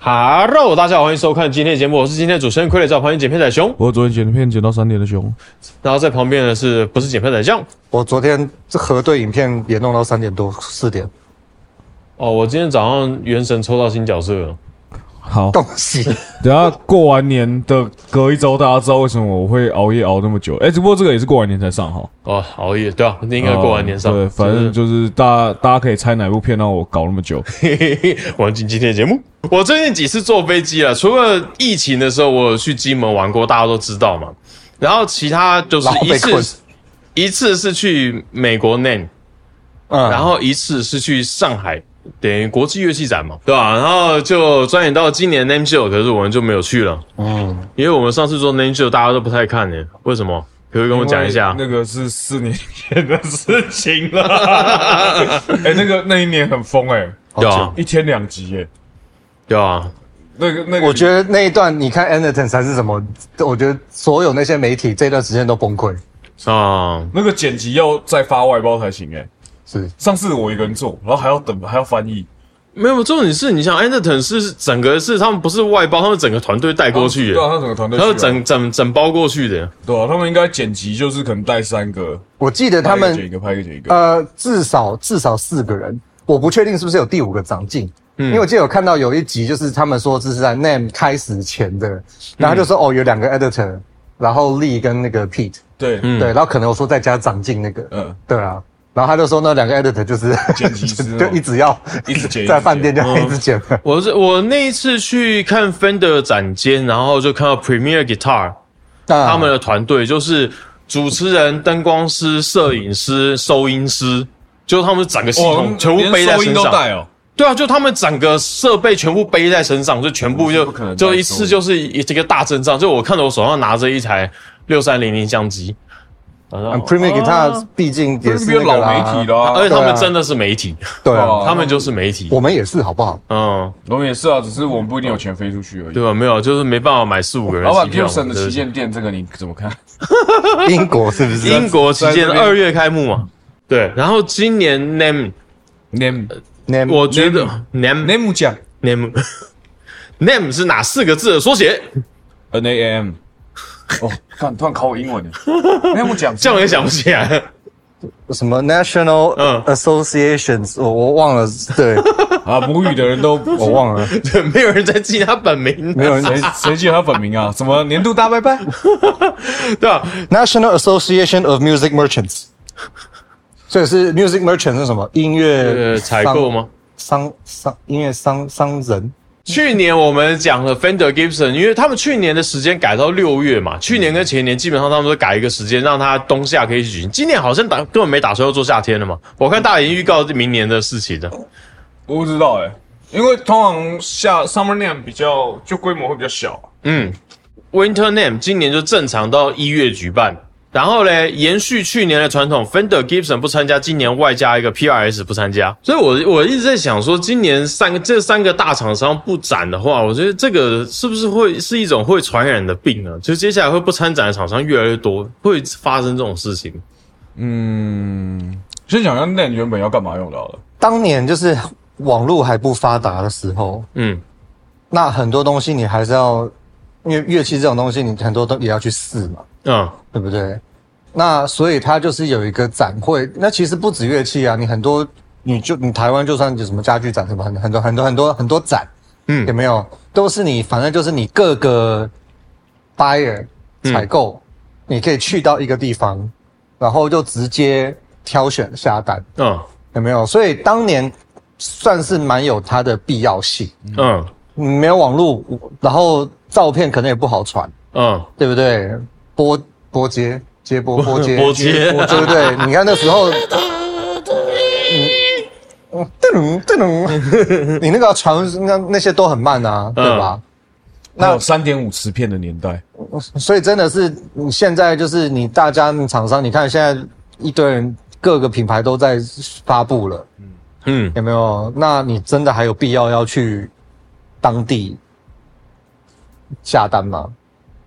Hello， 大家好，欢迎收看今天的节目，我是今天的主持人傀儡照，欢迎剪片仔熊。 我昨天剪片剪到3点的熊， 然后在旁边的是不是剪片仔酱？ 我昨天这核对影片也弄到3点多4点。 哦，我今天早上原神抽到新角色了。 好， 恭喜！ 等下过完年的隔一周，大家知道为什么我会熬夜熬那么久？只不过这个也是过完年才上哈。 哦，熬夜对啊，应该过完年上。 对，反正就是大家可以猜哪部片让我搞那么久。 玩进今天的节目。我最近几次坐飞机了，除了疫情的时候，我有去金门玩过，大家都知道嘛。然后其他就是一次是去美国 NAMM，然后一次是去上海。等于国际乐器展嘛，对吧？然后就转眼到今年 NAMM Show， 可是我们就没有去了。因为我们上次做 NAMM Show， 大家都不太看呢。为什么？可不可以跟我讲一下？ 那个是4年前的事情了。那一年很疯对啊 ，1天2集对啊。 那个，我觉得那一段你看 Anderton 还是什么，我觉得所有那些媒体这段时间都崩溃啊。 那个剪辑要再发外包才行是上次我一个人做，然后还要等，还要翻译。 没有，重点是你想 Anderton 是整个是他们不是外包，他们整个团队带过去的。 对啊，他整个团队， 他们整包过去的。 对啊，他们应该剪辑就是可能带3个。 我记得他们拍一个， 至少4个人，我不确定是不是有第5个长进。因为我记得有看到有一集，就是他们说这是在 NAMM 开始前的，然后他就说有2个 editor， 然后 Lee 跟那个 Pete， 对，然后可能我说再加长进那个，对啊。然后他就说那2个 editor 就是剪辑师就一直剪，在饭店就一直剪。 我那一次去看 Fender 展间，然后就看到 Premier Guitar，他们的团队就是主持人、灯光师、摄影师、收音师，就他们整个系统全部背在身上。 连收音都带哦。 对啊，就他们整个设备全部背在身上，就全部就一次就是这个大阵仗。就我看到我手上拿着一台6300相机。 Premier Guitar 毕竟也是那个老媒体啦， 而且他们真的是媒体， 对啊， 他们就是媒体， 我们也是，好不好？ 我们也是啊，只是我们不一定有钱飞出去而已， 对吧？没有，就是没办法买4-5个人。 老板 Gibson 的旗舰店，这个你怎么看？ 英国是不是？ 英国旗舰2月开幕嘛？对，然后今年 NAMM， 我觉得 NAMM 奖 NAMM 是哪4个字的缩写 ？NAMM。突然考我英文了。NAMM奖这样也想不起来。 什么 National Associations，我忘了。对啊，母语的人都我忘了。 对，没有人在记他本名， 没有人谁记得他本名啊？什么年度大拜拜？ 对啊 ，National Association of Music Merchants。所以是 Music Merchant 是什么？音乐采购吗？ 音乐商人。 去年我们讲了 Fender Gibson， 因为他们去年的时间改到6月嘛，去年跟前年基本上他们都改一个时间，让它冬夏可以一起举行。今年好像根本没打算要做夏天了嘛，我看大家已经预告明年的事情了。 我不知道因为通常Summer NAMM 比较就规模会比较小。 Winter NAMM 今年就正常到1月举办。然后呢，延续去年的传统 ，Fender Gibson 不参加，今年外加一个 PRS 不参加，所以我一直在想说，今年这3个大厂商不展的话，我觉得这个是不是会是一种会传染的病呢？就接下来会不参展的厂商越来越多，会发生这种事情。 先讲下 NAMM 原本要干嘛用到的。 当年就是网络还不发达的时候，那很多东西你还是要，因为乐器这种东西，你很多都也要去试嘛。对不对？那所以它就是有一个展会，那其实不止乐器啊，你很多，你台湾就算有什么家具展什么，很多展，有没有？都是你，反正就是你各个 buyer 采购，你可以去到一个地方，然后就直接挑选下单，有没有？所以当年算是蛮有它的必要性，没有网络，然后照片可能也不好传，对不对？拨接，对不对？你看那时候，你那个传那些都很慢啊，对吧？ 那有3.5磁片的年代， 所以真的是你现在就是你大家厂商，你看现在一堆人各个品牌都在发布了，有没有？那你真的还有必要要去当地下单吗？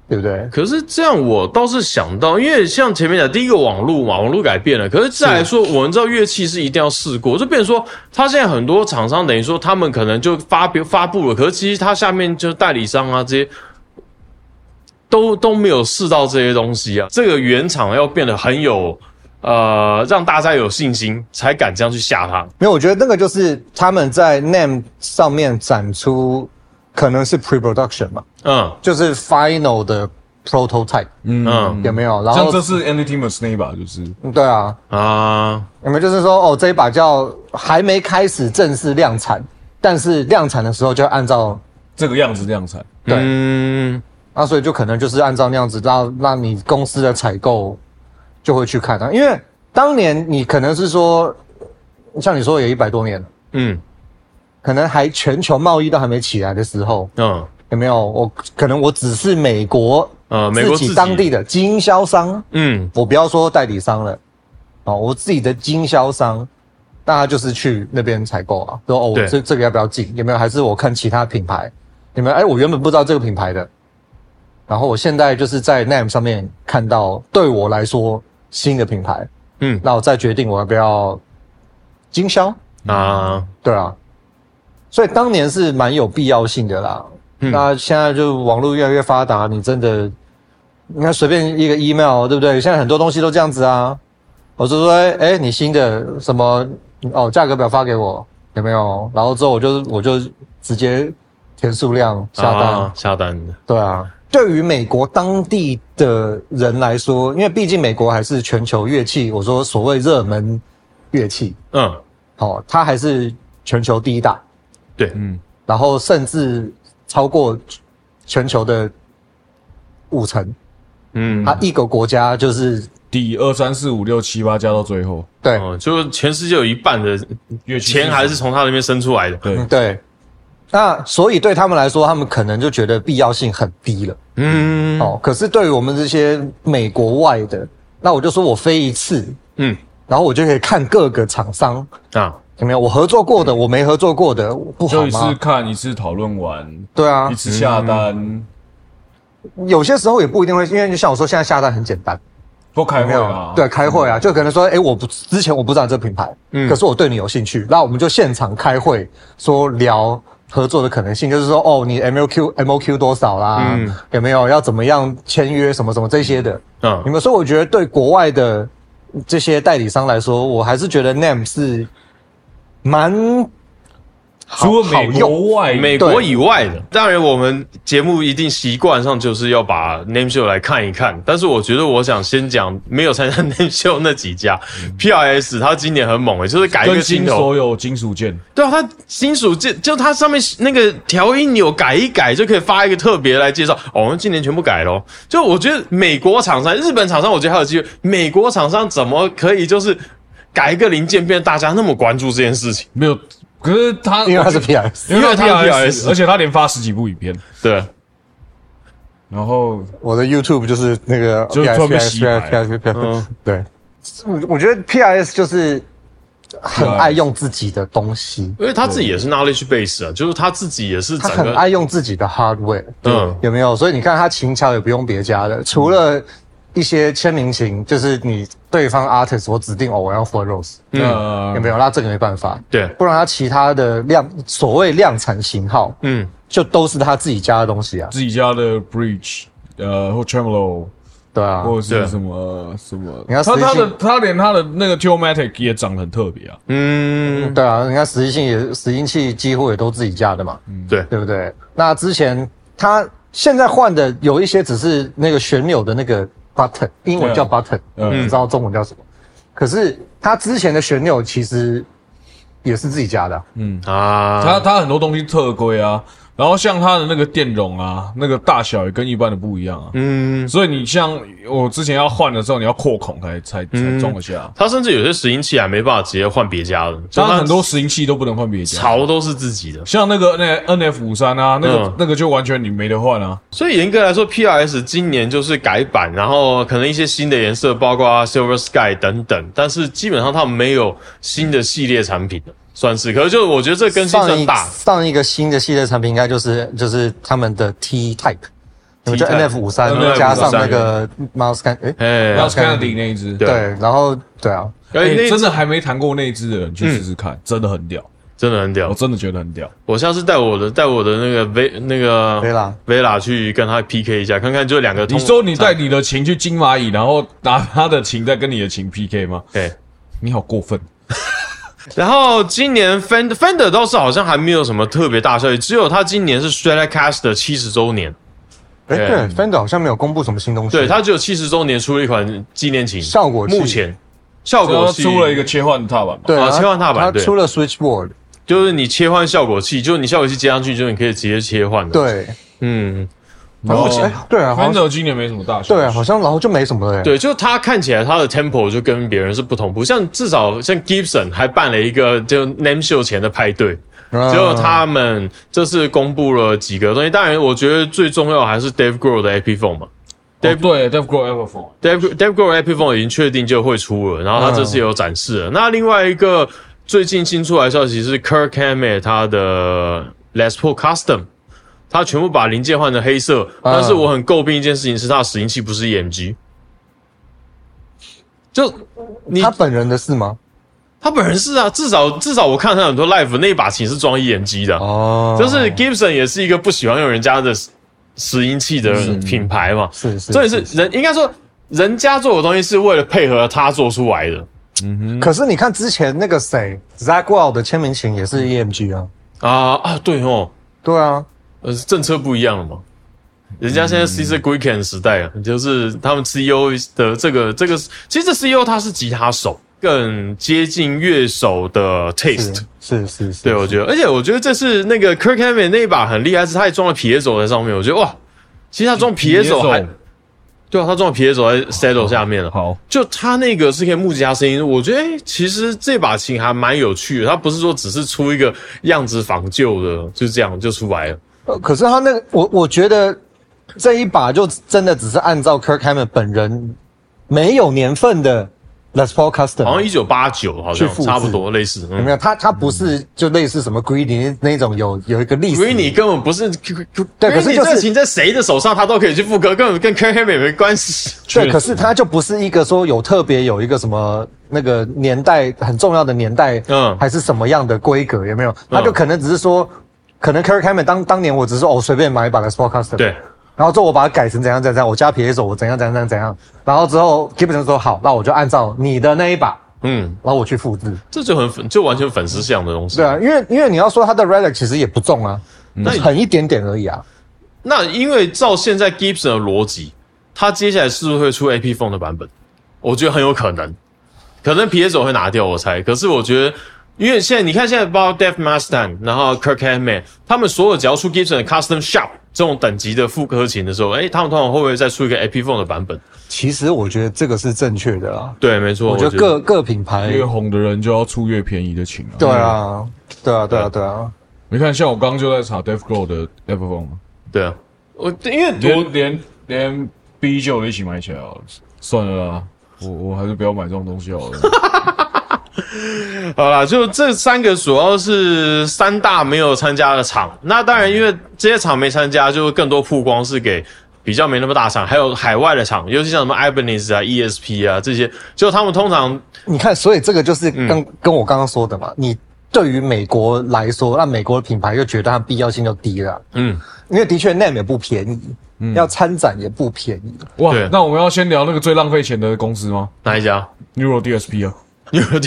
对不对？ 可是这样我倒是想到，因为像前面讲第一个网络嘛，网络改变了，可是再来说，我们知道乐器是一定要试过，就变成说，他现在很多厂商等于说他们可能就发布了，可是其实他下面就是代理商啊这些都没有试到这些东西啊，这个原厂要变得很有让大家有信心，才敢这样去下它。 没有，我觉得那个就是他们在 NAMM 上面展出。可能是 pre-production 嘛，就是 final 的 prototype， 有没有？然后像这是 Antimus 那一把，就是对啊，有没有？就是说，这一把叫还没开始正式量产，但是量产的时候就按照这个样子量产， 对，那所以就可能就是按照那样子，让你公司的采购就会去看它，因为当年你可能是说，像你说也100多年了，可能还全球贸易都还没起来的时候，有没有？可能我只是美国自己当地的经销商，我不要说代理商了，我自己的经销商，那他就是去那边采购啊，说这个要不要进？有没有？还是我看其他品牌？有没有？我原本不知道这个品牌的，然后我现在就是在 NAMM 上面看到，对我来说新的品牌，那我再决定我要不要经销啊？对啊。所以当年是蛮有必要性的啦。那现在就网络越来越发达，你真的，你看随便一个 email， 对不对？现在很多东西都这样子啊。我就说，你新的什么价格表发给我，有没有？然后之后我就直接填数量下单的。对啊，对于美国当地的人来说，因为毕竟美国还是全球乐器，我说所谓热门乐器，它还是全球第一大。 对， 然后甚至超过全球的50%，它一个国家就是第2、3、4、5、6、7、8加到最后， 对， 就全世界有一半的钱还是从他那边生出来的， 对。那所以对他们来说，他们可能就觉得必要性很低了，可是对于我们这些美国外的，那我就说我飞一次，然后我就可以看各个厂商啊。有没有我合作过的，我没合作过的，不好吗？ 就一次看，一次讨论完， 对啊， 一次下单。 有些时候也不一定会，因为就像我说，现在下单很简单， 不开会啊？ 对，开会啊，就可能说，之前我不知道这个品牌，可是我对你有兴趣，那我们就现场开会，说聊合作的可能性，就是说，你 MOQ 多少啦，有没有要怎么样签约什么什么这些的，有没有？所以我觉得对国外的这些代理商来说，我还是觉得 NAMM 是。 除了美国以外的，当然我们节目一定习惯上就是要把 NAMM Show 来看一看。但是我觉得我想先讲没有参加 NAMM Show 那几家 ，PRS 它今年很猛就是改一个镜头， 所有金属件。 对啊，它金属件就它上面那个调音钮改一改就可以发一个特别来介绍。我们今年全部改咯。就我觉得美国厂商、日本厂商，我觉得还有机会。美国厂商怎么可以就是改一个零件变大家那么关注这件事情？ 没有。可是因为他是 PRS， 因为他是 PRS， 而且他连发10几部影片。 对。 然后我的 YouTube 就是那个就特别洗白。 对，我觉得 PRS 就是很爱用自己的东西， 因为他自己也是 knowledge base 啊，就是他自己也是他很爱用自己的 hardware，有没有？所以你看他琴桥也不用别家的，除了一些签名琴，就是你对方 artist 我指定我要 Four Rose，有没有？那这个没办法， 对， 不然他其他的所谓量产型号，就都是他自己家的东西啊， 自己家的 Bridge，或 Tremolo， 对啊， 或者是什么， 你看他连他的那个 Toolmatic 也长得很特别啊， 对啊，你看实心器几乎也都自己家的嘛，对不对？那之前他现在换的有一些只是那个旋钮的那个。button 英文叫 button，不知道中文叫什么。可是他之前的旋钮其实也是自己家的， 他很多东西特规啊，然后像它的那个电容啊，那个大小也跟一般的不一样啊。所以你像我之前要换的时候，你要扩孔才装得下。 它甚至有些拾音器还没办法直接换别家的， 当然很多拾音器都不能换别家， 槽都是自己的。 像那个 NF53啊，那个就完全你没得换啊。 所以严格来说 ，PRS 今年就是改版，然后可能一些新的颜色，包括 Silver Sky 等等，但是基本上他们没有新的系列产品的。算是，可是就我觉得这更新算大。 上一个新的系列产品应该就是他们的 T Type， 就 NF53 加上那个 Miles Kennedy 那一只， 对，然后对啊， 真的还没弹过那一只的人去试试看，真的很屌。 真的很屌， 我真的觉得很屌。 我下次带我的那个 Vela 去跟他 PK 一下，看看就两个。 你说你带你的琴去金蚂蚁，然后拿他的琴再跟你的琴 PK 吗？ 对， 你好过分。 然后今年 Fender 倒是好像还没有什么特别大消息，只有他今年是 Stratocaster 70周年。 对 ，Fender 好像没有公布什么新东西。 对，他只有70周年出了一款纪念琴， 效果器。 目前效果器出了一个切换踏板嘛？ 对， 切换踏板， 他出了 Switchboard。 就是你切换效果器，就是你效果器接上去，就是你可以直接切换的。 对， 然后对啊 ，Fender 今年没什么大消息。 对啊，好像然后就没什么了。 对，就它看起来它的 tempo 就跟别人是不同步，至少像 Gibson 还办了一个就 Name Show 前的派对，就他们这次公布了几个东西。当然，我觉得最重要还是 Dave Grohl 的 Epiphone 嘛。 对 ，Dave Grohl Epiphone，Dave Grohl Epiphone 已经确定就会出了，然后他这次也有展示了。那另外一个。最近新出来的消息是 Kirk Hammett 他的 Les Paul Custom， 他全部把零件换成黑色，但是我很诟病一件事情是他的拾音器不是 EMG。就他本人的是吗？ 他本人是啊，至少我看他很多 live 那一把琴是装 EMG 的哦，就是 Gibson 也是一个不喜欢用人家的拾音器的品牌嘛， 是， 所以是应该说人家做的东西是为了配合他做出来的。 可是你看之前那个谁 Zach Wild 的签名琴也是 EMG 啊， 对哦， 对啊， 政策不一样了嘛，人家现在 Cesar Guican 时代啊，就是他们 CEO 的这个，其实这 CEO 他是吉他手，更接近乐手的 taste， 是， 对，我觉得，而且我觉得这次那个 Kirk Hammett 那一把很厉害，是他也装了piezo在上面，我觉得哇，其实他装piezo还。对啊，他装的piezo在 saddle 下面了。 好， 就他那个是可以目击他声音，我觉得其实这把琴还蛮有趣的。他不是说只是出一个样子仿旧的，就这样就出来了。 可是他那个，我觉得这一把就真的只是按照 Kirk Hammett 本人没有年份的 Les Paul Custom， 好像1989，好像差不多类似。 有没有？他不是就类似什么 Greeny 那种有一个历史。 Greeny 根本不是， 对，可是就是这琴在谁的手上，他都可以去复刻，根本跟 Kirk Hammett 没关系。 对，可是他就不是一个说特别有一个什么那个年代很重要的年代，还是什么样的规格，有没有？他就可能只是说，可能 Kirk Hammett 当年我只是说随便买一把 Les Paul Custom， 对。然后之后我把它改成怎样，我加piezo我怎样，然后之后 Gibson 说好，那我就按照你的那一把，然后我去复制， 这就完全粉丝向的东西。 对啊，因为你要说它的 relic 其实也不重啊，很一点点而已啊。 那因为照现在 Gibson 的逻辑，它接下来是不是会出 Epiphone 的版本？我觉得很有可能piezo 会拿掉，我猜。可是我觉得。因为现在包括 Dave Mustaine， 然后 Kirk Hammett， 他们所有只要出 Gibson 的 Custom Shop 这种等级的复刻琴的时候，他们通常会不会再出一个 Epiphone 的版本？ 其实我觉得这个是正确的啦。 对，没错。 我觉得各品牌越红的人就要出越便宜的琴啊。 对啊，对啊。 你看，像我刚刚就在查 Dave Grohl 的 Epiphone。 对啊，因为连 B9 的一起买起来好了，算了啦，我还是不要买这种东西好了。 好啦，就这三个主要是三大没有参加的厂。那当然，因为这些厂没参加，就更多曝光是给比较没那么大厂，还有海外的厂，尤其像什么 Ibanez 啊、ESP 啊这些，就他们通常你看，所以这个就是跟我刚刚说的嘛。你对于美国来说，那美国的品牌就觉得它必要性就低了。因为的确 NAMM 也不便宜，要参展也不便宜。 哇，那我们要先聊那个最浪费钱的公司吗？ 哪一家 ？Neural DSP 啊。 Neural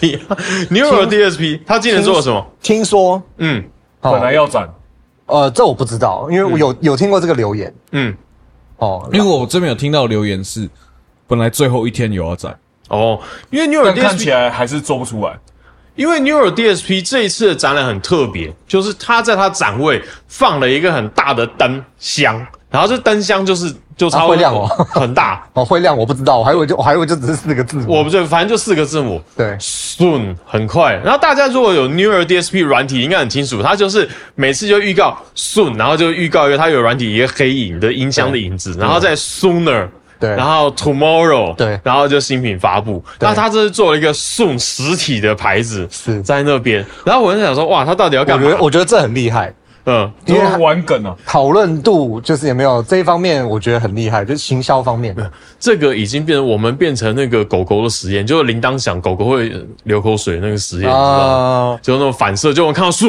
DSP， 他今年做了什么？ 听说， 本来要展， 这我不知道，因为我有听过这个留言， 因为我这边有听到留言是，本来最后一天有要展， 因为 Neural DSP 看起来还是做不出来， 因为 Neural DSP 这一次的展览很特别，就是他在他展位放了一个很大的灯箱，然后这灯箱就超会亮哦， 很大会亮，我不知道，我还以为就只是4个字母， 我不对，反正就4个字母， 对 ，soon 很快。然后大家如果有 Neural DSP 软体，应该很清楚，它就是每次就预告 soon， 然后就预告一个它有软体一个黑影的音箱的影子，然后再 sooner。对，然后 tomorrow， 对，然后就新品发布。那他这是做了一个 soon 实体的牌子，是在那边。然后我就想说，哇，他到底要干嘛？ 我觉得这很厉害。 因为玩梗啊， 讨论度就是有没有这一方面，我觉得很厉害，就是行销方面。 这个已经变成那个狗狗的实验，就是铃铛响，狗狗会流口水那个实验，你知道吗？就那种反射，就我看到树。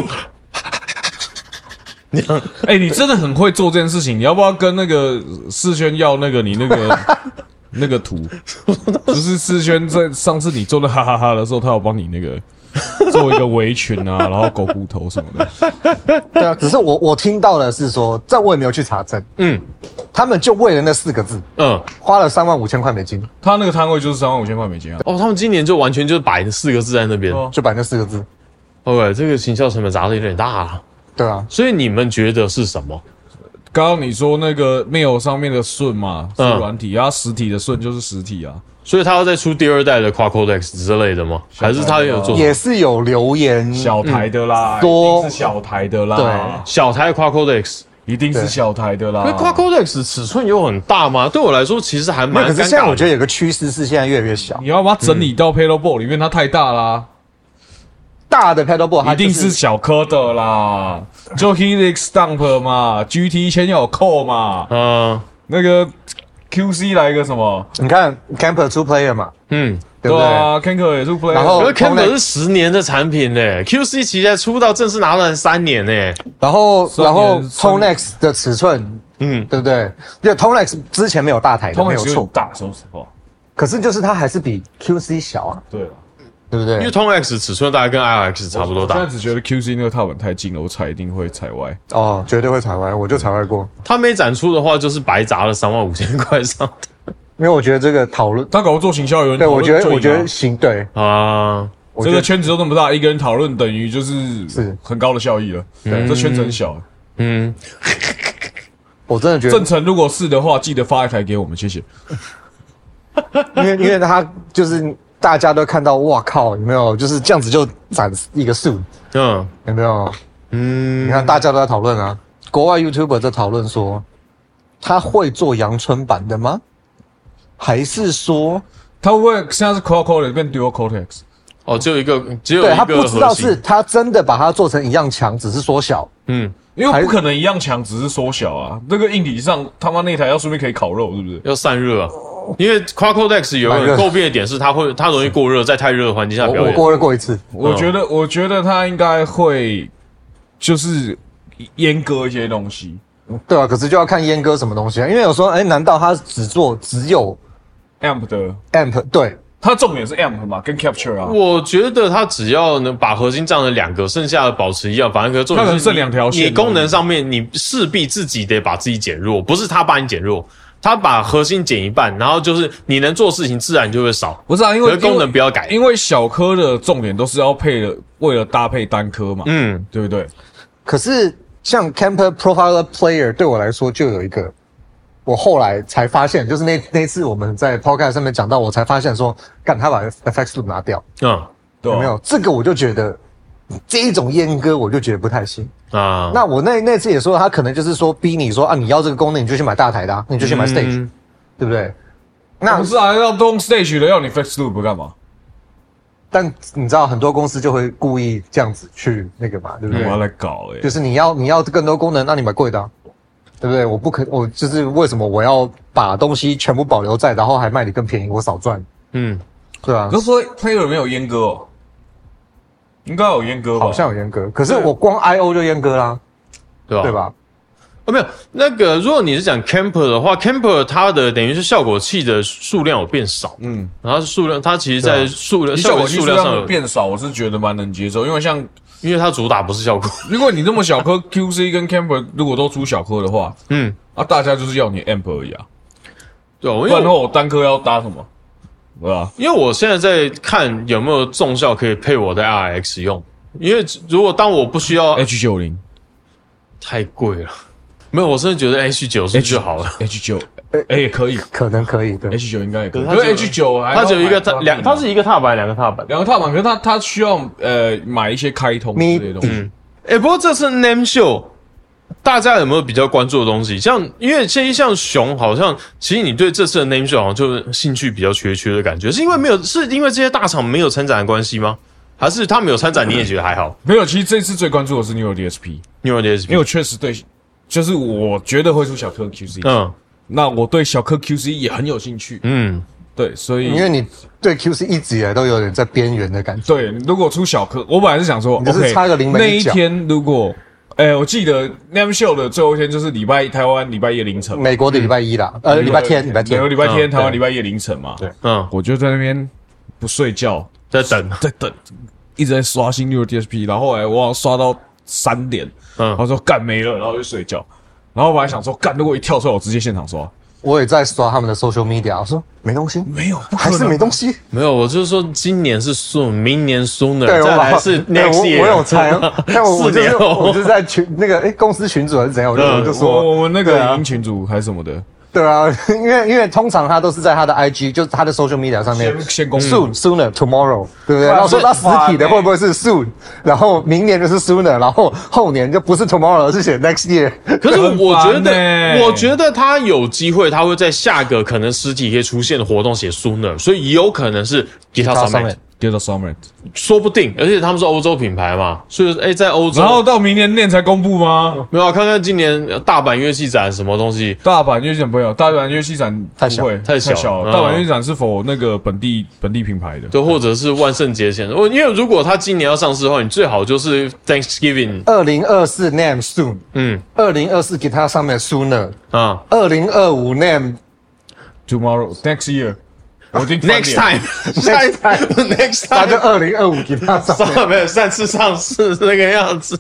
你真的很会做这件事情，你要不要跟那个世轩要那个你那个那个图？就是世轩在上次你做的哈哈哈的时候，他有帮你那个。做一个围裙啊，然后狗骨头什么的。 对啊，只是我听到的是说，这我也没有去查证。他们就为了那4个字，花了35000块美金。 他那个摊位就是35000块美金啊。 他们今年就完全就摆4个字在那边， 就摆那4个字。 OK， 这个行销成本砸的有点大啊。 对啊， 所以你们觉得是什么？ 刚刚你说那个 mail 上面的顺嘛，是软体，然后实体的顺就是实体啊。 所以他要再出第2代的 Quad Codex 之类的吗？还是他有做？ 也是有留言， 小台的啦，一定是小台的啦。 对， 小台 Quad Codex 一定是小台的啦。 因为 Quad Codex 尺寸有很大吗？对我来说其实还蛮尴尬的。 可是现在我觉得有个趋势是现在越来越小。 你要把它整理到 Paddleboard 里面，它太大啦。 大的 Paddleboard 一定是小颗的啦，就 Helix Dump 嘛 ，GT 前有扣嘛，那个。QC 来一个什么？ 你看 Camper 2 Player 嘛， 对不对啊 ？Camper 也2 Player， 然后 Camper 是10年的产品嘞 ，QC 其实出到正式拿了3年嘞。 然后 Tonex 的尺寸，对不对？因为 Tonex 之前没有大台的，没有错， 大，说实话。 可是就是它还是比 QC 小啊，对不对？ 因为 Tonex 尺寸大概跟 IRX 差不多大。 我现在只觉得 QC 那个踏板太近了，我踩一定会踩歪。 绝对会踩歪，我就踩歪过。 他没展出的话，就是白砸了35000块上的。 因为我觉得这个讨论， 他搞不做行销有人对，我觉得行，对啊， 这个圈子都那么大，一个人讨论等于就是很高的效益了。对，这圈子很小。 我真的觉得正成如果是的话，记得发一台给我们，谢谢。 因为他就是大家都看到，哇靠，有没有？就是这样子就展一个树，有没有？你看大家都在讨论啊，国外 YouTuber 在讨论说，他会做阳春版的吗？还是说他会不会现在是 Quad Codex 变 Dual Cortex？ 只有一个对，他不知道是他真的把它做成一样强，只是缩小。 因为不可能一样强，只是缩小啊。那个硬体上他妈那台要顺便可以烤肉，是不是？ 要散热啊。因为 Quad Codex 有个诟病的点是它容易过热，在太热的环境下表演。 我过热过一次， 我觉得它应该会就是阉割一些东西。 对啊，可是就要看阉割什么东西啊。因为有时候，难道它只有 amp 的 amp？ 对， 它重点是 amp 嘛，跟 capture 啊。 我觉得它只要能把核心占了2个，剩下的保持一样，反正重点是剩2条线。 你功能上面你势必自己得把自己减弱，不是他把你减弱。他把核心减一半，然后就是你能做事情自然就会少。 不是啊，因为功能不要改， 因为小颗的重点都是要为了搭配单颗嘛，对不对？ 可是像 Camper Profiler Player 对我来说就有一个，我后来才发现，就是那次我们在 Podcast 上面讲到，我才发现说，干他把 FX Loop 拿掉，有没有？这个我就觉得这一种阉割，我就觉得不太行。那我那次也说，他可能就是说逼你说你要这个功能，你就去买大台的，你就去买 Stage，对不对？那不是啊，要动 Stage 的，要你 Flex Loop 干嘛？ 但你知道很多公司就会故意这样子去那个嘛，对不对？ 我要来搞就是你要更多功能，那你买贵的，对不对？我就是为什么我要把东西全部保留在，然后还卖你更便宜，我少赚。对啊。 可是说 Player 没有阉割哦。应该有阉割吧？ 好像有阉割，可是我光 I/O 就阉割啦，对吧？ 没有那个，如果你是讲 Camper 的话 ，Camper 它的等于是效果器的数量有变少，然后数量它其实在效果器数量上有变少，我是觉得蛮能接受，因为它主打不是效果。 如果你这么小颗 QC 跟 Camper 如果都出小颗的话，大家就是要你 amp 而已啊， 对， 不然的话我单颗要搭什么？对吧？ 因为我现在在看有没有重效可以配我的 RX 用，因为如果当我不需要 H90 太贵了，没有，我真的觉得 H90 就好了。 H9 也可以， 可能可以，对 ，H9 应该也可以。可是 H9 它只有一个它是一个踏板2个踏板， 可是它需要买一些开通之类的东西。 不过这次 Name Show。大家有没有比较关注的东西？因为像熊，好像其实你对这次的 Name Show 好像就兴趣比较缺的感觉，是因为这些大厂没有参展的关系吗？ 还是他们有参展你也觉得还好？ 没有，其实这次最关注的是 Neural DSP， Neural DSP， 因为我确实对，就是我觉得会出小颗 QC， 那我对小颗 QC 也很有兴趣，对，所以因为你对 QC 一直以来都有点在边缘的感觉。 对，如果出小颗，我本来是想说你就是差个临门那一天如果。我记得 NAMM Show 的最后一天就是台湾礼拜一凌晨， 美国的礼拜一啦，礼拜天， 美国礼拜天，台湾礼拜一凌晨嘛。 对， 我就在那边不睡觉， 在等， 一直在刷新 Neural DSP， 然后后来我好像刷到3点，然后说干没了，然后就睡觉。然后我本来想说干，如果一跳出来，我直接现场刷。 我也在刷他们的 social media， 我说没东西， 没有， 还是没东西， 没有。我就是说，今年是 soon， 明年 sooner， 对， 再来是 next year。 我有猜，但我就是在那个公司群组还是怎样，我就说我们那个影音群组还是什么的。 对啊，因为通常他都是在他的 IG， 就是他的 social media 上面先公布 sooner tomorrow， 对不对？然后说他实体的会不会是 soon， 然后明年就是 sooner， 然后后年就不是 tomorrow， 而是写 next year。 可是我觉得他有机会，他会在下个可能实体可以出现的活动写 sooner， 所以有可能是 Guitar Summit。说不定，而且他们是欧洲品牌嘛，所以在欧洲， 然后到明年才公布吗？ 没有，看看今年大阪乐器展什么东西。 大阪乐器展不会有，大阪乐器展太小了。大阪乐器展是否那个本地品牌的？ 对，或者是万圣节前。因为如果他今年要上市的话，你最好就是 Thanksgiving。 2024 NAMM soon， 2024 Guitar Summit sooner， 2025 NAMM tomorrow next year。 Next time， 他就2025给他上， 没有上次上市那个样子。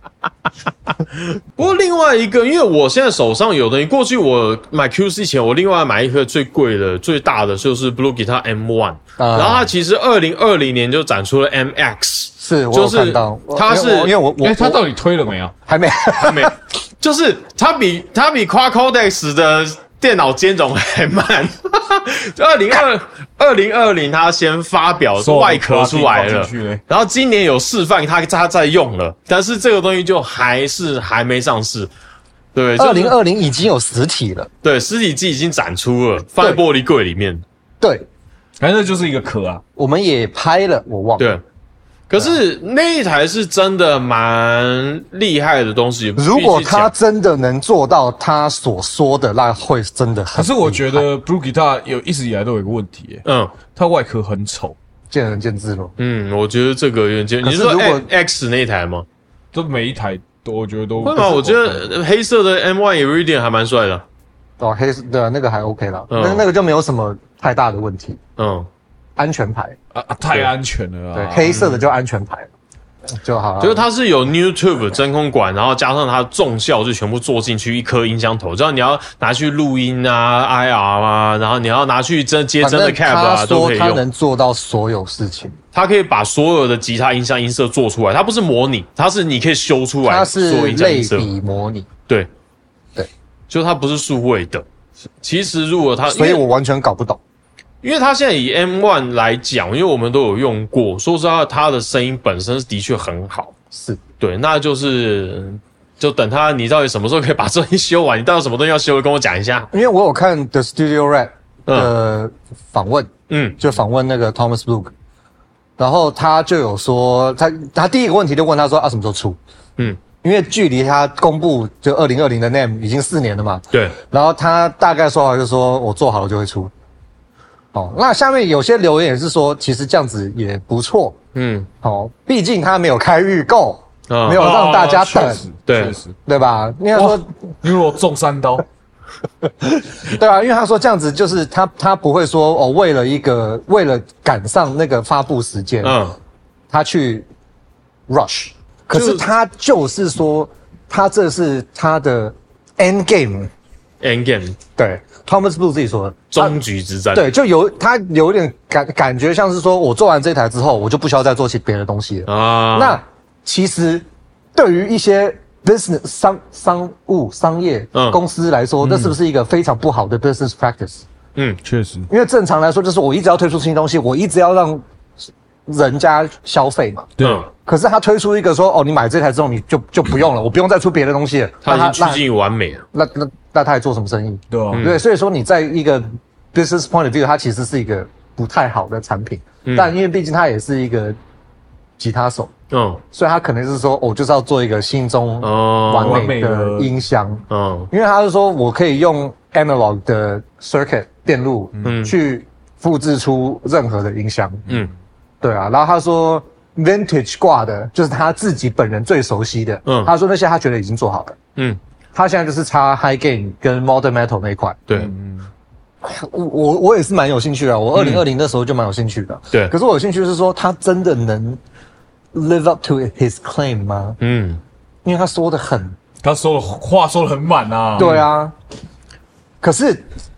不过另外一个，因为我现在手上有东西，过去我买 QC 前，我另外买一颗最贵的、最大的就是 Blue Guitar M1，然后它其实2020年就展出了 MX， 是我有看到， 它是因为我它到底推了没有？ 还没， 就是它比 Quad Codex 的电脑兼容还慢。2020它先发表外壳出来了，然后今年有示范它在用了，但是这个东西就还没上市。对 ，2020已经有实体了， 对，实体机已经展出了，放在玻璃柜里面。 对， 反正就是一个壳啊。 我们也拍了，我忘了。 对。可是那一台是真的蛮厉害的东西。 如果他真的能做到他所说的，那会真的很厉害。 可是我觉得 Blue Guitar 一直以来都有一个问题，它外壳很丑， 见仁见智咯。 我觉得这个有点见。你是说 X 那一台吗？ 就每一台都我觉得都会吗？我觉得黑色的 M1 Iridium 还蛮帅的。 哦，黑色的那个还 OK 啦，那个就没有什么太大的问题。安全牌太安全了啊！ 对，黑色的就安全牌就好了。 就是它是有 YouTube 真空管，然后加上它重效就全部做进去一颗音箱头，这样你要拿去录音啊、IR 啊，然后你要拿去接真的 cab 啊，都可以用。 它能做到所有事情， 它可以把所有的吉他音箱音色做出来，它不是模拟，它是你可以修出来， 它是类比模拟。 对，就它不是数位的。其实如果它， 所以我完全搞不懂。 因为它现在以 M1 来讲，因为我们都有用过，说实话，它的声音本身的确很好， 是对， 那就等你到底什么时候可以把这东西修完？你到底什么东西要修的，跟我讲一下。 因为我有看 The Studio Rap 的访问，就访问那个 Thomas Blue， 然后他就有说，他第一个问题就问他说什么时候出？因为距离他公布就2020的 NAMM 已经4年了嘛， 对， 然后他大概说法就是说我做好了就会出。那下面有些留言也是说，其实这样子也不错。毕竟他没有开预购，没有让大家等，对吧？因为他说， 因为我中3刀， 对啊，因为他说这样子就是他不会说为了赶上那个发布时间，他去 rush， 可是他就是说，他这是他的 end game， 对。Thomas Blue 自己说的终局之战， 对，他有点感觉像是说，我做完这台之后，我就不需要再做别的东西了啊。那其实对于一些 business 商业公司来说，那是不是一个非常不好的 business practice？ 确实， 因为正常来说，就是我一直要推出新东西，我一直要让人家消费嘛。 对。 可是他推出一个说，你买这台之后，你就不用了，我不用再出别的东西了。 他已经趋近于完美了。 那他还做什么生意？ 对， 所以说你在一个 business point of view，它其实是一个不太好的产品。但因为毕竟它也是一个吉他手，所以他可能是说，我就是要做一个心中完美的音箱，因为他是说我可以用 analog 的 circuit 电路，去复制出任何的音箱，对啊，然后他说 vintage 挂的，就是他自己本人最熟悉的，他说那些他觉得已经做好了，他现在就是差 high gain 跟 modern metal 那一块， 对。 我也是蛮有兴趣的，我2020的时候就蛮有兴趣的。 对， 可是我有兴趣是说，他真的能 live up to his claim 吗？因为他说的话说的很满啊。 对啊，可是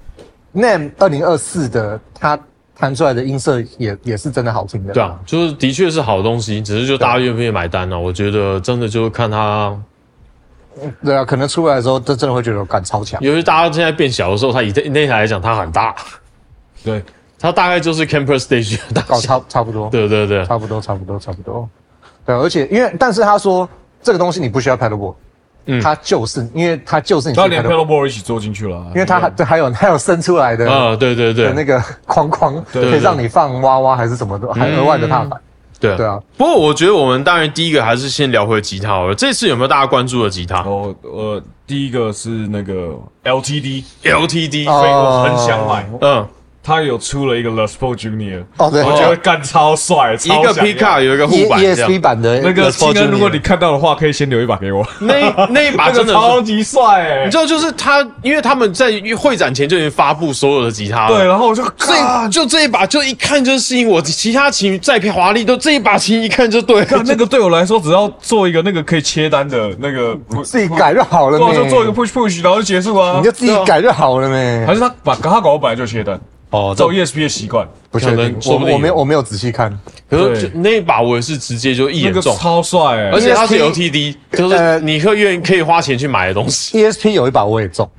NAMM 2024的他弹出来的音色也是真的好听的。 对啊，就是的确是好东西，只是就大家愿不愿意买单呢？我觉得真的就是看他。 对啊，可能出来的时候，真的会觉得感超强。 尤其大家现在变小的时候，它以那台来讲，它很大。 对， 它大概就是 Camper Stage 的大小， 差不多。 对， 差不多。对，而且但是他说这个东西你不需要 pedalboard，它就是因为它就是你。 他连 pedalboard 一起做进去了， 因为它还有伸出来的对的那个框，可以让你放娃娃还是什么的，还额外的踏板。对啊， 不过我觉得我们当然第一个还是先聊回吉他好了。这次有没有大家关注的吉他？ 第一个是那个 LTD， 我很想买。他有出了一个 Les Paul Junior， 对， 我觉得干超帅， 一个 Pickup 有一个护板 ，ESP 版的那个青恩，如果你看到的话，可以先留一把给我。 那一把真的超级帅你知道，就是他，因为他们在会展前就已经发布所有的吉他了， 对，然后我就就这一把，就一看就吸引我，其他琴再华丽，都这一把琴一看就对。 那个对我来说，只要做一个那个可以切单的那个， 自己改就好了， 就做一个 push， 然后就结束啊， 你就自己改就好了呗。 还是他搞本来就切单。照 ESP 的习惯， 不确定，我没有仔细看。 可是那一把我也是直接就一眼中， 超帅而且它是 LTD， 就是你可以花钱去买的东西。 ESP 有一把我也中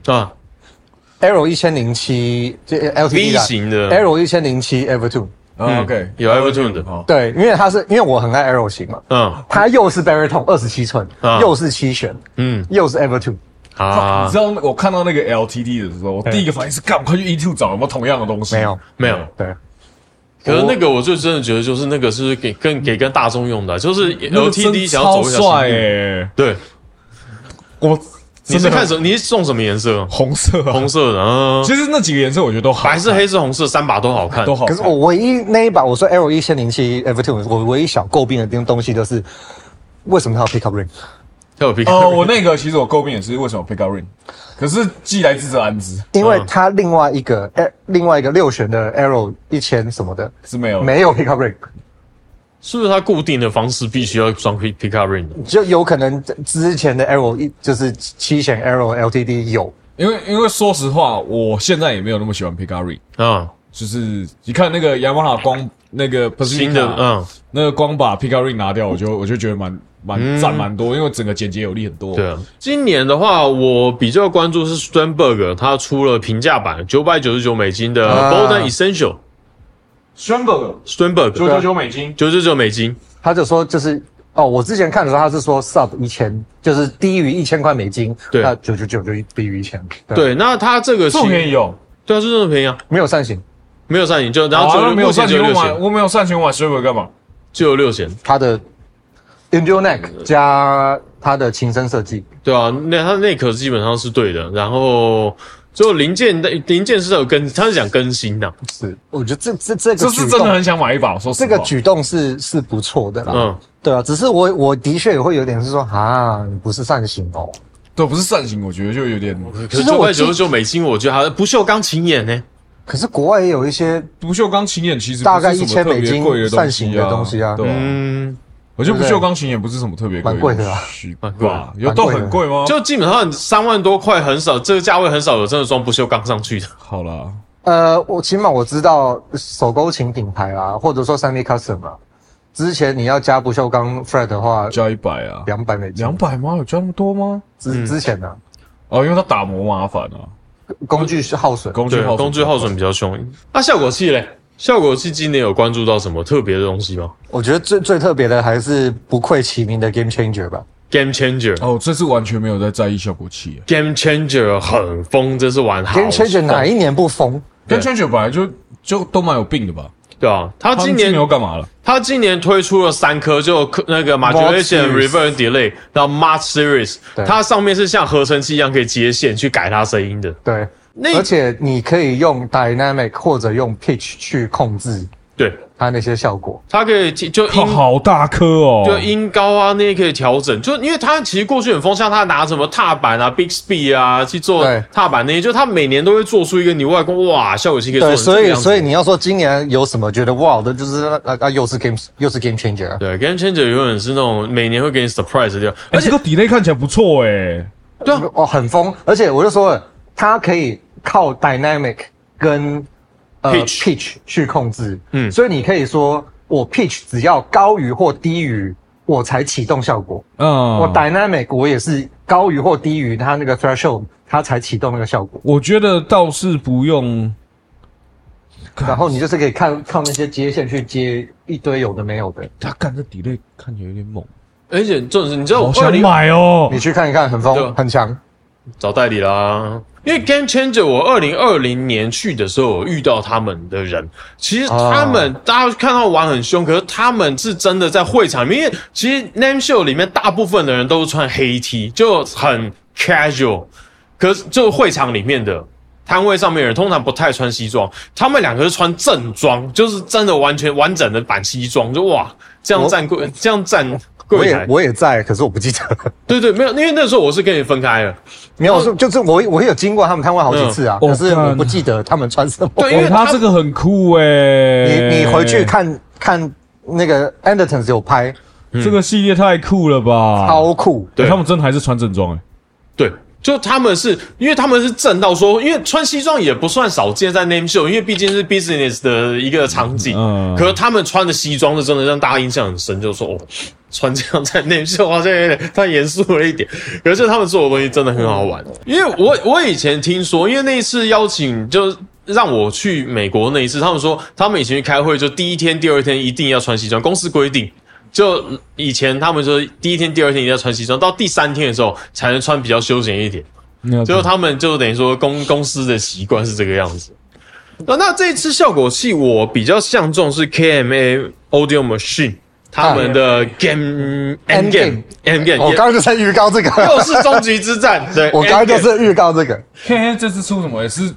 ，Arrow 1007就 LTD V 型的 Arrow 1007 Evertune。 OK， 有 Evertune 的， 对，因为我很爱 Arrow 型嘛，它又是 Baritone 27寸，又是7弦，又是 Evertune。 你知道我看到那个 LTD 的时候，我第一个反应是赶快去 E2 找有没有同样的东西。 没有，对。 可是那个我就真的觉得，就是那个是给跟大众用的，就是 LTD 想要走一条超帅对，你是看什么？你是送什么颜色？ 红色的。 其实那几个颜色我觉得都好， 白色、黑色、红色3把都好看， 都好看。 可是我唯一那一把，我说 Arrow 1007 Evertune， 我唯一小诟病的东西就是为什么它有 pickup ring？ 我那个其实我诟病也是为什么 pickup ring， 可是既来之则安之， 因为它另外一个6弦的 Arrow 1000什么的是没有 pickup ring， 是不是它固定的方式必须要装 pickup ring？ 就有可能之前的 Arrow 就是7弦 Arrow LTD 有， 因为说实话，我现在也没有那么喜欢 pickup ring 就是你看那个雅马哈光那个新的那个光把 pickup ring 拿掉，我就觉得占蛮多，因为整个简洁有力很多。 对啊，今年的话，我比较关注是 Sternberg， 他出了平价版$999的 Boden Essential。Sternberg $999， 他就说就是我之前看的时候他是说 sub 1000，就是低于$1000， 对， 那999就低于1000。 对，那他这个这么便宜哦？ 对啊，是这么便宜啊， 没有扇形， 就然后没有扇形，我没有扇形，我买 Sternberg 干嘛？ 就有6弦， 他的 Enduro neck 加它的琴身设计， 对啊，它的内壳基本上是对的，然后就零件是有它是讲更新的， 是，我觉得这个是真的很想买一把，说实话， 这个举动是不错的啦，对啊，只是我的确也会有点是说你不是扇形哦， 对，不是扇形，我觉得就有点， 可是$999，我觉得它不锈钢琴眼呢。 可是国外也有一些不锈钢琴眼，其实大概$1000扇形的东西啊， 对啊。我觉得不锈钢琴也不是什么特别贵， 蛮贵的啦， 蛮贵啊，有都很贵吗？ 就基本上3万多块很少，这个价位很少有真的装不锈钢上去的。 好啦， 起码我知道手勾琴品牌啊，或者说3D Custom 啊，之前你要加不锈钢 fret 的话， 加100啊 ，$200。 200吗？有加那么多吗？ 之前呢？ 因为它打磨麻烦啊， 工具耗损， 工具耗损比较凶。那效果器嘞？效果器今年有关注到什么特别的东西吗？ 我觉得最特别的还是不愧其名的 Game Changer 吧。 Game Changer 这次完全没有在意效果器。 Game Changer 很疯，这是玩好。 Game Changer 哪一年不疯 ？Game Changer 本来就都蛮有病的吧？ 对啊，他今年有干嘛了？ 他今年推出了3颗，就那个 modulation、reverb、delay 到 March Series， 它上面是像合成器一样可以接线去改它声音的。 对，而且你可以用 dynamic 或者用 pitch 去控制。 对。 它那些效果， 它可以就音好大颗哦， 就音高啊那些可以调整，就因为它其实过去很风，像它拿什么踏板啊、Bixby 啊去做踏板那些，就它每年都会做出一个你外观哇效果器可以做成这个样子。 所以你要说今年有什么觉得哇的，就是又是 game changer。 对 ，game changer 永远是那种每年会给你 surprise 的， 而且这个 delay 看起来不错诶。 对啊， 哦很疯，而且我就说了，它可以靠 dynamic 跟pitch 去控制，所以你可以说。我 pitch 只要高于或低于，我才启动效果。我 dynamic 我也是高于或低于它那个 threshold， 它才启动那个效果。 我觉得倒是不用。 然后你就是可以靠那些接线去接一堆有的没有的。 他干这 delay 看起来有点猛， 而且就是你知道我想买哦， 你去看一看，很疯，很强。 找代理啦，因为 Game Changer 我2020年去的时候，我遇到他们的人，其实他们大家看到玩很凶，可是他们是真的在会场里面，因为其实 Name Show 里面大部分的人都是穿黑 T， 就很 casual， 可是就会场里面的摊位上面的人通常不太穿西装，他们2个是穿正装，就是真的完全完整的版西装，就哇这样站我也在，可是我不记得。 对，没有，因为那时候我是跟你分开了。 没有，就是我有经过他们摊位好几次啊，可是我不记得他们穿什么。 对，因为他这个很酷诶。 你回去看那个 Andertons 有拍， 这个系列太酷了吧， 超酷。 对，他们真的还是穿正装诶。 对。就他们是因为他们是正到说，因为穿西装也不算少见在 Name Show， 因为毕竟是 business 的一个场景。可是他们穿的西装是真的让大家印象很深，就是说哦，穿这样在 Name Show 好像有点太严肃了一点。可是他们做的东西真的很好玩，因为我以前听说，因为那一次邀请就让我去美国那一次，他们说他们以前去开会就第一天、第二天一定要穿西装，公司规定。就以前他们说第一天、第二天一定要穿西装，到第3天的时候才能穿比较休闲一点。就他们就等于说公司的习惯是这个样子。那这一次效果器我比较相中是 KMA Audio Machine 他们的 Endgame。 我刚刚就在预告这个， 又是终局之战。对， 我刚刚就是预告这个。 KMA 这次出什么也是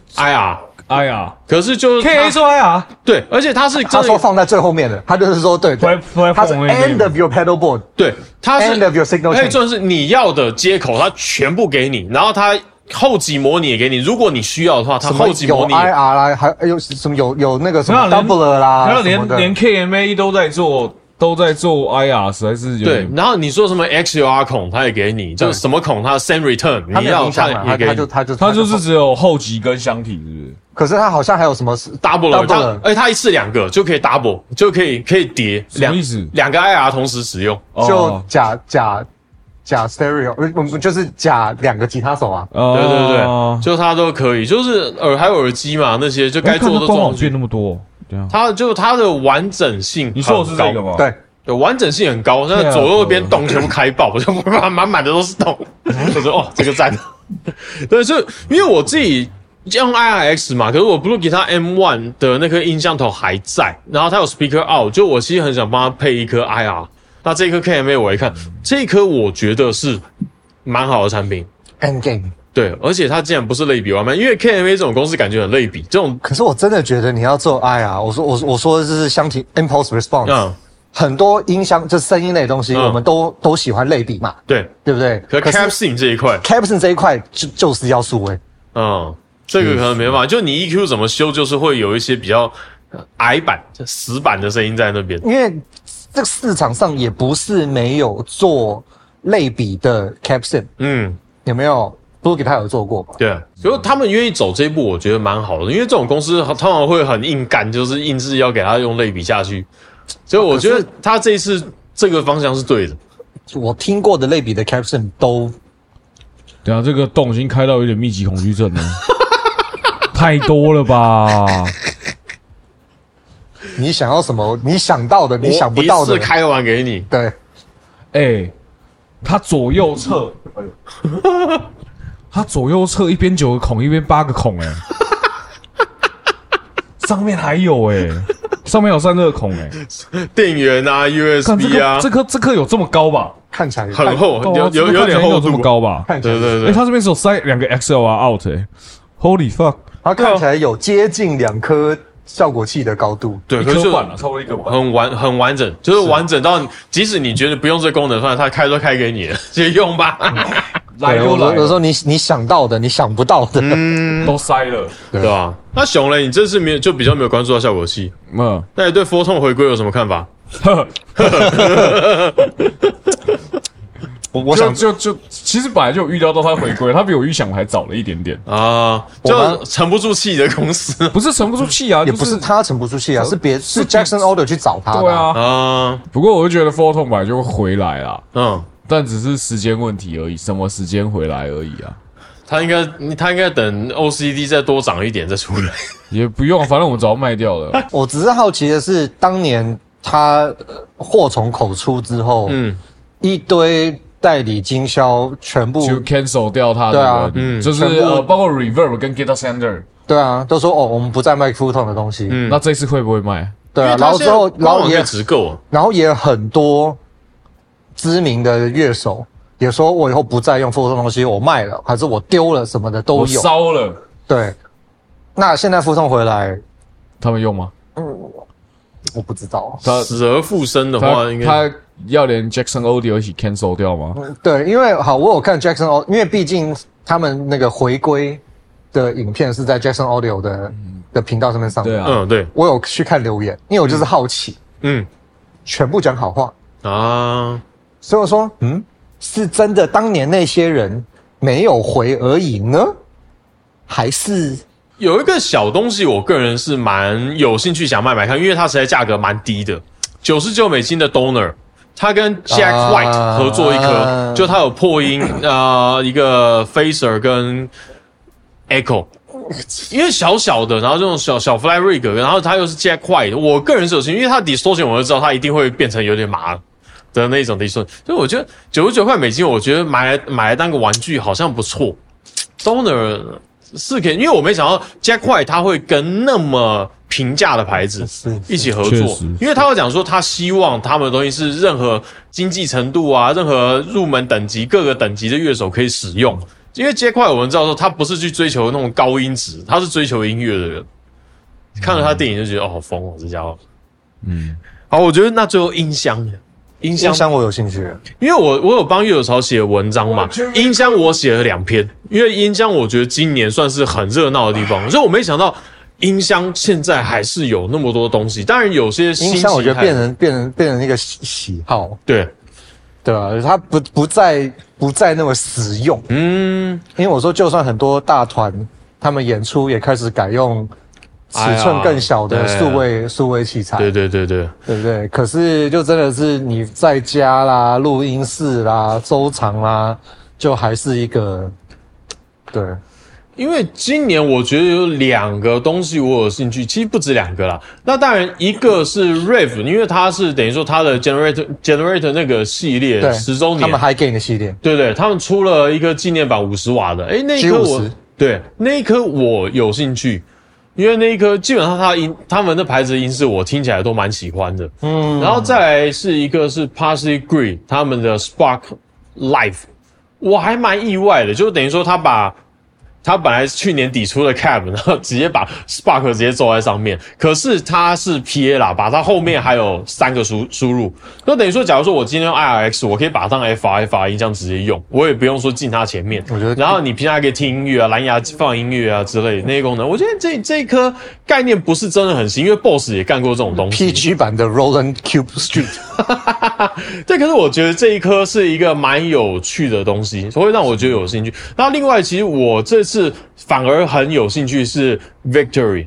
IR，可是就是 KA 说 IR， 对，而且他说放在最后面的，他就是说对，他是 end of your pedal board， 对，他是 end of your signal chain， 可以就是你要的接口，他全部给你，然后他后级模拟也给你，如果你需要的话，他后级模拟有 IR 啦，还有什么有那个什么 doubler 啦， 还有连 KMA 都在做 IR， 实在是有对。然后你说什么 XLR 孔，他也给你，就什么孔，他 send return， 你要他也给你， 他就是只有后级跟箱体，是不是？ 可是他好像还有什么 double， 他一次2个就可以 double， 就可以叠， 什么意思 ？2个 IR 同时使用， 就假 stereo， 就是假2个吉他手啊。 对，就他都可以，就是还有耳机嘛，那些就该做的装变那么多。 它的完整性很高， 你说的是这个吗？ 对，完整性很高，那左右边洞全部开爆，就满满的都是洞。我说哦，这个赞。对，就因为我自己用 IRX 嘛，可是我 Blue Guitar M1 的那颗音箱头还在，然后它有 Speaker Out， 就我其实很想帮它配一颗 IR。那这颗 KMA 我一看，这颗我觉得是蛮好的产品。 Endgame。 对，而且它竟然不是类比外卖，因为 KMA 这种公司感觉很类比这种。 可是我真的觉得你要做 IR， 我说的是箱体 impulse response，很多音箱就声音类的东西，我们都喜欢类比嘛， 对不对？ 可 Capsing 这一块 ，Capsing 这一块就是要数位， 这个可能没办法，就你 EQ 怎么修，就是会有一些比较矮版、死板的声音在那边， 因为这个市场上也不是没有做类比的 Capsing，有没有？Blue Guitar有做过吧？ 对，所以他们愿意走这一步，我觉得蛮好的。因为这种公司通常会很硬干，就是硬是要给他用类比下去。所以我觉得他这一次这个方向是对的。 我听过的类比的 Capsule 都， 对啊，这个洞已经开到有点密集恐惧症了，太多了吧？ 你想要什么？你想到的，你想不到的， 一次开完给你。 对， 它左右侧。它左右侧一边9个孔，一边8个孔，上面还有上面有散热孔电源啊 ，USB 啊， 这颗有这么高吧？ 看起来很厚，有点厚度， 这么高吧？ 对， 它这边是有塞2个 XLR out，Holy fuck！ 它看起来有接近2颗效果器的高度， 对， 一颗半了，差不多一个半， 很完整，就是完整到即使你觉得不用这功能，它开都开给你了，直接用吧。 来都来了， 有时候你想到的，你想不到的， 都塞了， 对吧？那熊嘞，你这次就比较没有关注到效果器，那你对 Photon 回归有什么看法？ 我想就其实本来就有预料到它回归，它比我预想还早了一点点啊，就沉不住气的公司， 不是沉不住气啊， 也不是他沉不住气啊，是 Jackson Audio 去找他的， 对啊，不过我就觉得 Photon 本来就会回来啦，但只是时间问题而已，什么时间回来而已啊。 他应该等 OCD 再多涨一点再出来， 也不用，反正我们早卖掉了。 我只是好奇的是，当年他祸从口出之后，一堆代理经销全部就 cancel 掉他的， 对啊， 就是包括 Reverb 跟 Guitar Center， 对啊，都说我们不再卖 Photon 的东西， 那这次会不会卖？ 对啊，然后之后也直购， 然后也很多知名的乐手也说，我以后不再用 Photon 东西，我卖了，还是我丢了什么的都有， 我烧了。 对，那现在 Photon 回来， 他们用吗？ 我不知道。 死而复生的话，应该他要连 Jackson Audio 一起 cancel 掉吗？ 对，因为我有看 Jackson Audio，因为毕竟他们那个回归的影片是在 Jackson Audio 的频道上面上的。 对啊， 对， 我有去看留言，因为我就是好奇，全部讲好话啊，所以我说，是真的当年那些人没有回而已呢，还是有一个小东西，我个人是蛮有兴趣想买看，因为它实在价格蛮低的，$99的 Donor， 它跟 Jack White 合作一颗，就它有破音一个 Phaser 跟 Echo， 因为小小的，然后这种小 Fly Rig， 然后它又是 Jack White， 我个人是有兴趣，因为它 Distortion 我就知道它一定会变成有点麻的那种 Distortion， 所以我觉得$99，我觉得买来当个玩具好像不错。Donor 是可以，因为我没想到 Jack White 他会跟那么平价的牌子一起合作，因为他会讲说他希望他们的东西是任何经济程度啊，任何入门等级各个等级的乐手可以使用。因为 Jack White 我们知道说他不是去追求那种高音质，他是追求音乐的人。看了他电影就觉得好疯哦，这家伙。好，我觉得那最后音箱我有兴趣， 因为我有帮乐友潮写文章嘛，音箱我写了2篇，因为音箱我觉得今年算是很热闹的地方，所以我没想到音箱现在还是有那么多东西。当然有些音箱我觉得变成一个喜好， 对吧？它不再那么实用，因为我说就算很多大团他们演出也开始改用尺寸更小的数位器材， 对不对？可是就真的是你在家啦、录音室啦、收藏啦，就还是一个对。 因为今年我觉得有2个东西我有兴趣，其实不止2个啦。那当然一个是 Rave， 因为它是等于说它的 Generator 那个系列10周年， 他们High Gain 的系列， 对，他们出了一个纪念版50瓦的，那一颗那一颗我有兴趣。因为那一颗基本上他们的牌子的音是我听起来都蛮喜欢的，然后再来是一个是 Parsley Green 他们的 Spark Live， 我还蛮意外的，就等于说他本来去年底出了 Cab， 然后直接把 Spark 直接做在上面，可是它是 PA 喇叭，它后面还有3个输入，就等于说假如说我今天用 IRX， 我可以把它当 FR 音箱直接用，我也不用说进它前面，我觉得然后你平常还可以听音乐啊，蓝牙放音乐啊之类的那些功能，我觉得这一颗概念不是真的很新，因为 Boss 也干过这种东西 PG 版的 Roland Cube Street 对，可是我觉得这一颗是一个蛮有趣的东西，会让我觉得有兴趣。然后另外其实我这次反而很有兴趣是 Victory，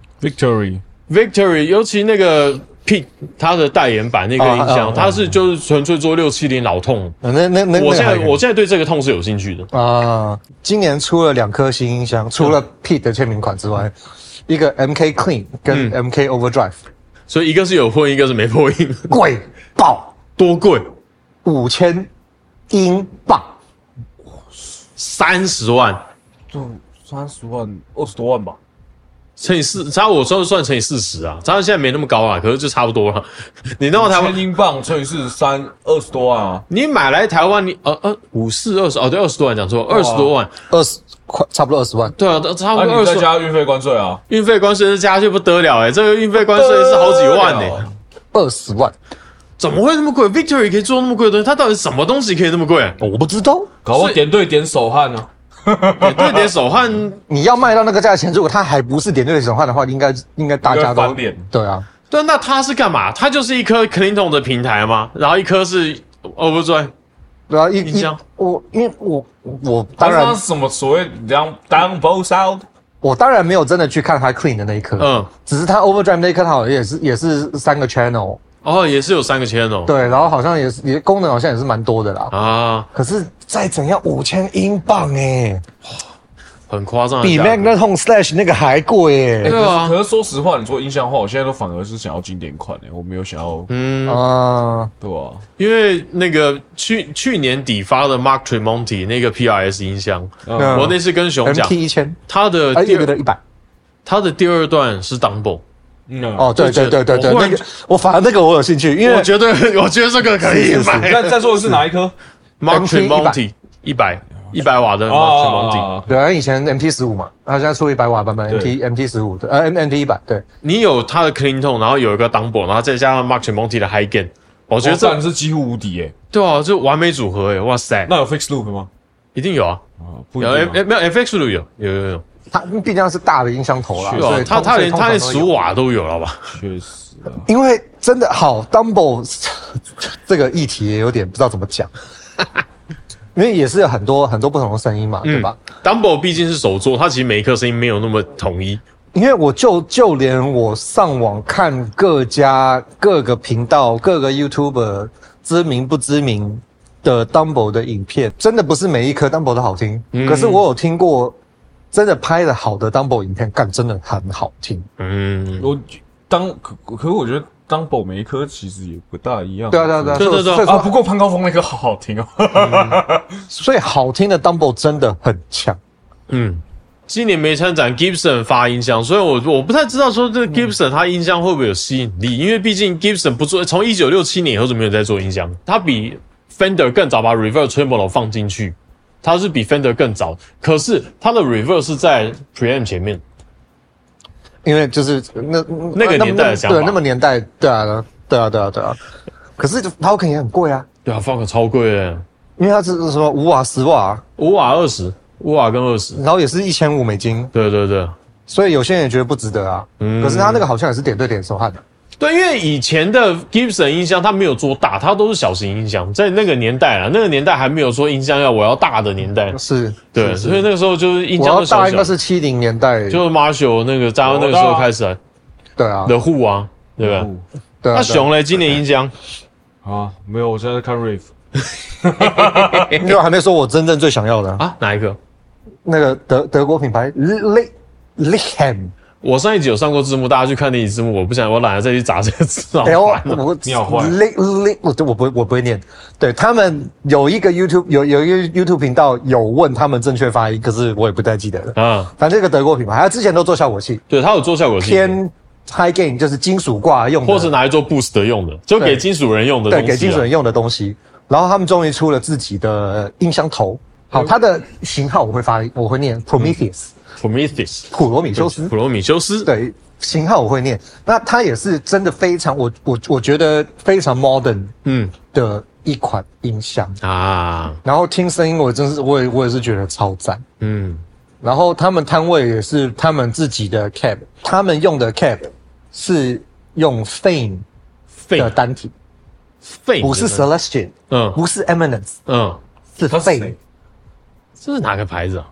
尤其那个 Pete 他的代言版那个音箱，它是就是纯粹做670老痛。我现在对这个痛是有兴趣的啊。今年出了2颗新音箱，除了 Pete 的签名款之外，一个 MK Clean 跟 MK Overdrive， 所以一个是有破音，一个是没破音， 贵爆， 多贵 ？5000英镑 ，30万。 就30万，20多万吧。 乘以4，差我算乘以40啊，差现在没那么高啊，可是就差不多了。你弄到台湾 1000英镑乘以43，20多万啊！ 你买来台湾，你5420哦，对，20多万讲错，20多万 ，20块差不多20万。 对啊，差不多20。 你再加运费关税啊？ 运费关税加去不得了这个运费关税是好几万 20万。 怎么会那么贵 ？Victory 可以做那么贵的东西，它到底什么东西可以那么贵？ 我不知道， 搞不点对点手汗呢？ 点对点手汗， 你要卖到那个价钱，如果它还不是点对点手汗的话，应该大家都对啊。 对，那它是干嘛？它就是一颗 Clinton 的平台吗？然后一颗是 Overdrive， 对啊， 音箱。 因为我当然什么所谓down both sound， 我当然没有真的去看它 clean 的那一颗，只是它 Overdrive 那一颗，它好像也是3个 channel。 也是有3个channel， 对，然后好像也功能好像也是蛮多的啦。 啊， 可是再怎样5000英镑很夸张， 比 Magnetone Slash 那个还贵对啊。 可是说实话，你做音箱的话，我现在都反而是想要经典款我没有想要对啊， 因为那个去年底发的 Mark Tremonti 那个 PRS 音箱，我那次跟熊讲 MT1000， 它的 100， 它的第2段是 Dumble。 对，那个我反而那个我有兴趣，因为我觉得这个可以买。 再说的是哪一颗 ？Mark Tremonti 100瓦的 Mark Tremonti。 对，以前 MT15嘛，他现在出100瓦版本 MT15 的MT100。对， 你有它的 clean tone， 然后有一个 Dumble， 然后再加上 Mark Tremonti 的 high gain， 我觉得这是几乎无敌对啊，这完美组合哇塞！ 那有 fix loop 吗？ 一定有啊， 不一定没有 FX loop 有。 它毕竟是大的音箱头啦， 所以它连15瓦都有了吧？ 确实啊， 因为真的好 Dumble 这个议题也有点不知道怎么讲，因为也是有很多不同的声音嘛，对吧 ？Dumble 毕竟是手作，它其实每一颗声音没有那么统一。 因为我就连我上网看各个频道、各个 YouTuber 知名不知名的 Dumble 的影片，真的不是每一颗 Dumble 都好听，可是我有听过。真的拍的好的 Dumble 影片，真的很好听。 可我觉得 Dumble 每一颗其实也不大一样。 对啊。 不过潘高峰那颗好好听所以好听的 Dumble 真的很强。 今年没参展 Gibson 发音箱，所以我不太知道说这个 Gibson 它音箱会不会有吸引力，因为毕竟 Gibson 不做，从1967年以后就没有在做音箱，它比 Fender 更早把 Reverb Tremolo 放进去。它是比 Fender 更早，可是它的 Reverb 是在 Preamp 前面， 因为就是那个年代的想法， 对，那么年代，对啊。可是 Falcon 也很贵啊， 对啊 ，Falcon 超贵的， 因为它是什么5瓦、10瓦、 5瓦20，5瓦跟20， 然后也是$1500。 对， 所以有些人也觉得不值得啊。可是它那个好像也是点对点手汗的。 对，因为以前的 Gibson 音箱它没有做大，它都是小型音箱，在那个年代啊，那个年代还没有说音箱我要大的年代， 是， 对，所以那个时候就是音箱我要大应该是70年代， 就是 Marshall 那个在那个时候开始啊， 对啊， 的Who啊，对吧？ 对啊。 那熊嘞，今年音箱没有，我现在在看 Rave， 因为我还没说我真正最想要的啊，哪一个？ 那个德国品牌 Licham。 我上一集有上过字幕，大家去看那集字幕。我懒得再去找这个字。 你好坏。我不会念。对，他们有一个 YouTube 频道有问他们正确发音，可是我也不太记得了。反正这个德国品牌，他之前都做效果器。 对，他有做效果器。 偏 high gain 就是金属挂用的， 或是拿来做 boost 用的，就给金属人用的东西。 对，给金属人用的东西。然后他们终于出了自己的音箱头。好，它的型号我会念 Prometheus。普罗米修斯，对，型号我会念。那它也是真的非常，我觉得非常 modern， 的一款音箱啊。然后听声音，我也是觉得超赞，然后他们摊位也是他们自己的 cab， 他们用的 cab 是用 Fame 的单体，Fame 不是 Celestion， 不是 Eminence， 是 Fame。 这是哪个牌子啊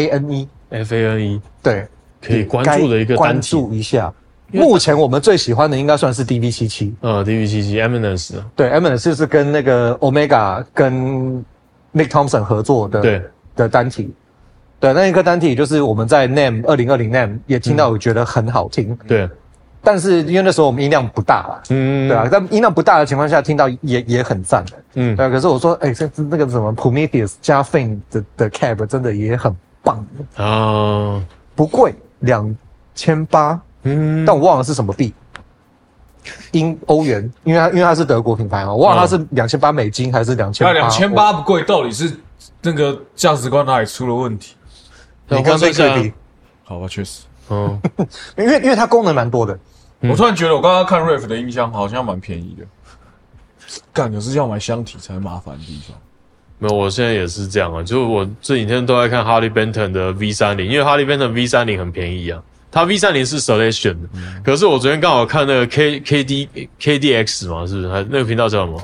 ？FANE， 对， 可以关注的一个单体。 关注一下。目前我们最喜欢的应该算是 DV77。 DV77 Eminence。 对 ，Eminence 就是跟那个 Omega 跟 Nick Thompson 合作的单体。对，那一个单体就是我们在 NAMM 2020 NAMM 也听到，我觉得很好听。 对。 但是因为那时候我们音量不大啦，对啊，在音量不大的情况下听到也很赞的，对啊。可是我说，那个什么 Prometheus 加 Fame 的 cab 真的也很棒啊，不贵， 2800，但我忘了是什么币，欧元，因为它是德国品牌嘛，我忘了它是$2800还是2800。 那$2800不贵，到底是那个价值观哪里出了问题？ 你刚被对比， 好吧，确实， 因为它功能蛮多的。 我突然觉得我刚刚看 Ref 的音箱好像蛮便宜的，干可是要买箱体才麻烦的地方。 没有，我现在也是这样啊，就我这几天都在看 Harley Benton 的 V30， 因为 Harley Benton V30 很便宜啊，它 V30 是 Selection 的，可是我昨天刚好看那个 KDX 嘛，是不是？那个频道叫什么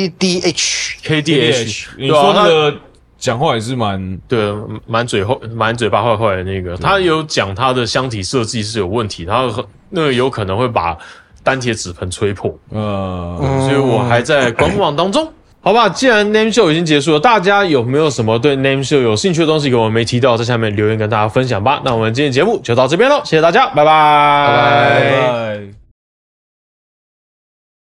？KDH。 你说那个讲话也是蛮蛮嘴巴坏坏的那个，他有讲他的箱体设计是有问题，他那个有可能会把单铁纸盆吹破，所以我还在观望当中。好吧，既然 Name Show 已经结束了，大家有没有什么对 Name Show 有兴趣的东西给我们没提到，在下面留言跟大家分享吧。那我们今天节目就到这边咯，谢谢大家，拜拜。